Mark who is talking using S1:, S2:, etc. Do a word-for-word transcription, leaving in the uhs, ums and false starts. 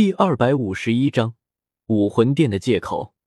S1: 第二百五十一章武魂殿的借口。